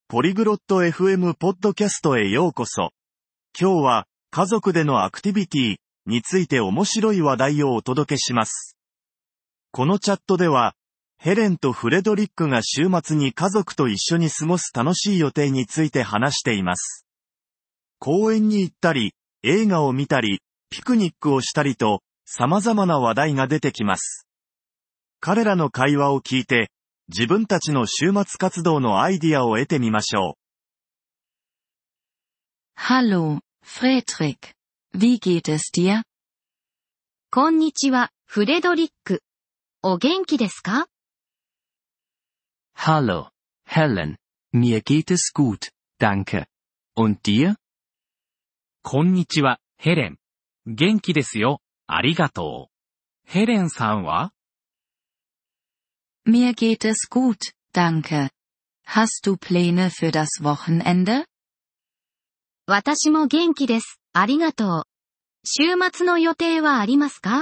ポリグロット FM ポッドキャストへようこそ。今日は、家族でのアクティビティについて面白い話題をお届けします。このチャットでは、ヘレンとフレドリックが週末に家族と一緒に過ごす楽しい予定について話しています。公園に行ったり、映画を見たり、ピクニックをしたりと、様々な話題が出てきます。彼らの会話を聞いて、自分たちの週末活動のアイディアを得てみましょう。Hallo, Fredrik. Wie geht es dir? こんにちは、フレドリック。お元気ですか？ Hallo, Helen. Mir geht es gut, danke. Und dir? こんにちは、ヘレン。元気ですよ、ありがとう。ヘレンさんは？ Mir geht es gut, danke. Hast du Pläne für das Wochenende? 私も元気です、ありがとう。週末の予定はありますか？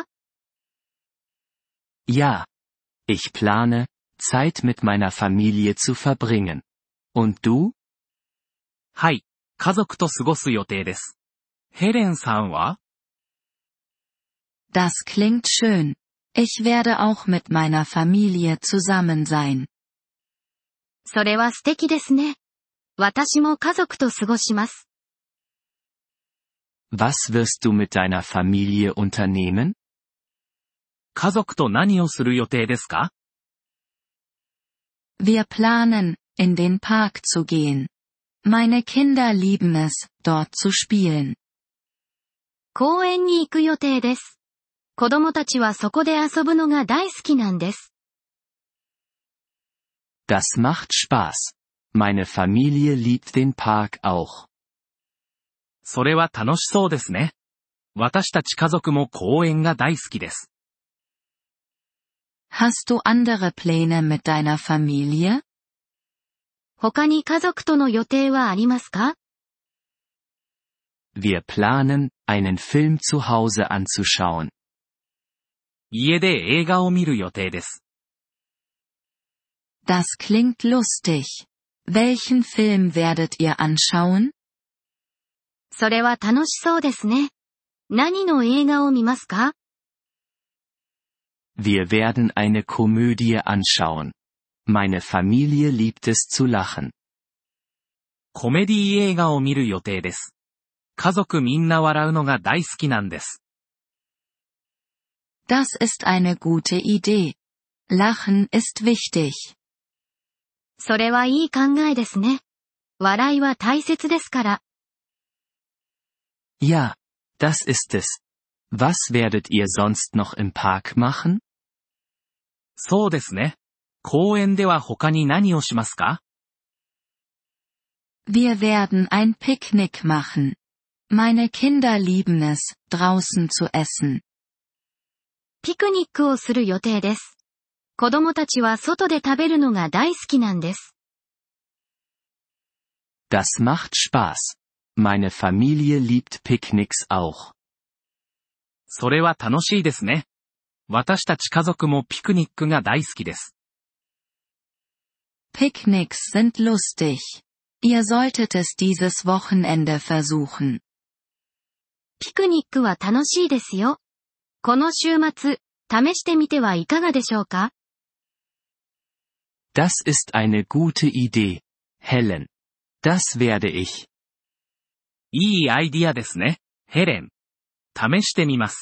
Ja. Ich plane, Zeit mit meiner Familie zu verbringen. Und du? はい、家族と過ごす予定です。ヘレンさんは？ Das klingt schön. Ich werde auch mit meiner Familie zusammen sein. それは素敵ですね。私も家族と過ごします。 Was wirst du mit deiner Familie unternehmen? 家族と何をする予定ですか？ Wir planen, in den Park zu gehen. Meine Kinder lieben es, dort zu spielen. 公園に行く予定です。子供たちはそこで遊ぶのが大好きなんです。 Das macht Spaß. Meine Familie liebt den Park auch. それは楽しそうですね。私たち家族も公園が大好きです。 Hast du andere Pläne mit deiner Familie? 他に家族との予定はありますか？ Wir planen, einen Film zu Hause anzuschauen. 家で映画を見る予定です。 Das klingt lustig. Welchen Film werdet ihr anschauen? それは楽しそうですね。何の映画を見ますか？ Wir werden eine Komödie anschauen. Meine Familie liebt es zu lachen. コメディ映画を見る予定です。家族みんな笑うのが大好きなんです。 Das ist eine gute Idee. Lachen ist wichtig. それはいい考えですね。笑いは大切ですから。 Ja, das ist es. Was werdet ihr sonst noch im Park machen? そうですね。公園では他に何をしますか？ Wir werden ein Picknick machen. Meine Kinder lieben es, draußen zu essen. ピクニックをする予定です。子供たちは外で食べるのが大好きなんです。 Das macht Spaß. Meine Familie liebt Picknicks auch. それは楽しいですね。私たち家族もピクニックが大好きです。 Picknicks sind lustig. Ihr solltet es dieses Wochenende versuchen. ピクニックは楽しいですよ。この週末、試してみてはいかがでしょうか？ Das ist eine gute Idee, Helen. Das werde ich. いいアイディアですね、ヘレン。試してみます。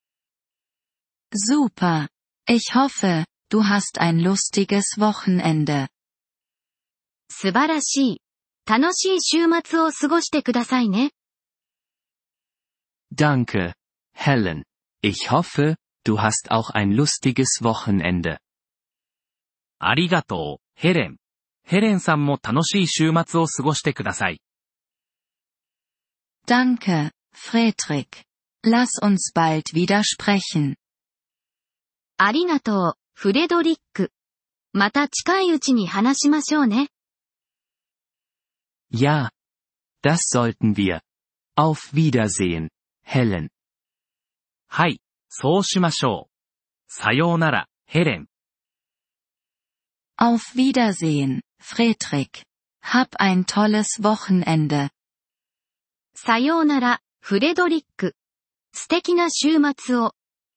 Super. Ich hoffe, du hast ein lustiges Wochenende. 素晴らしい。楽しい週末を過ごしてくださいね。 Danke, Helen. Ich hoffe, du hast auch ein lustiges Wochenende. ありがとう、ヘレン。ヘレンさんも楽しい週末を過ごしてください。 Danke, Fredrik. Lass uns bald wieder sprechen. ありがとう、フレドリック。また近いうちに話しましょうね。 Ja. Das sollten wir. Auf Wiedersehen, Helen. はい、そうしましょう。さようなら、ヘレン。 Auf Wiedersehen, Fredrik. Hab ein tolles Wochenende. さようなら、フレドリック。素敵な週末を。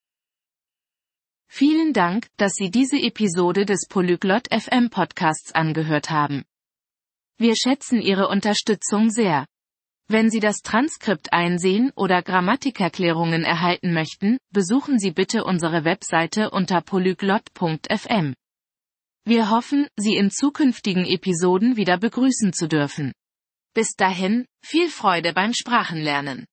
Vielen Dank, dass Sie diese Episode des Polyglot FM Podcasts angehört haben. Wir schätzen Ihre Unterstützung sehr. Wenn Sie das Transkript einsehen oder Grammatikerklärungen erhalten möchten, besuchen Sie bitte unsere Webseite unter polyglot.fm. Wir hoffen, Sie in zukünftigen Episoden wieder begrüßen zu dürfen. Bis dahin, viel Freude beim Sprachenlernen.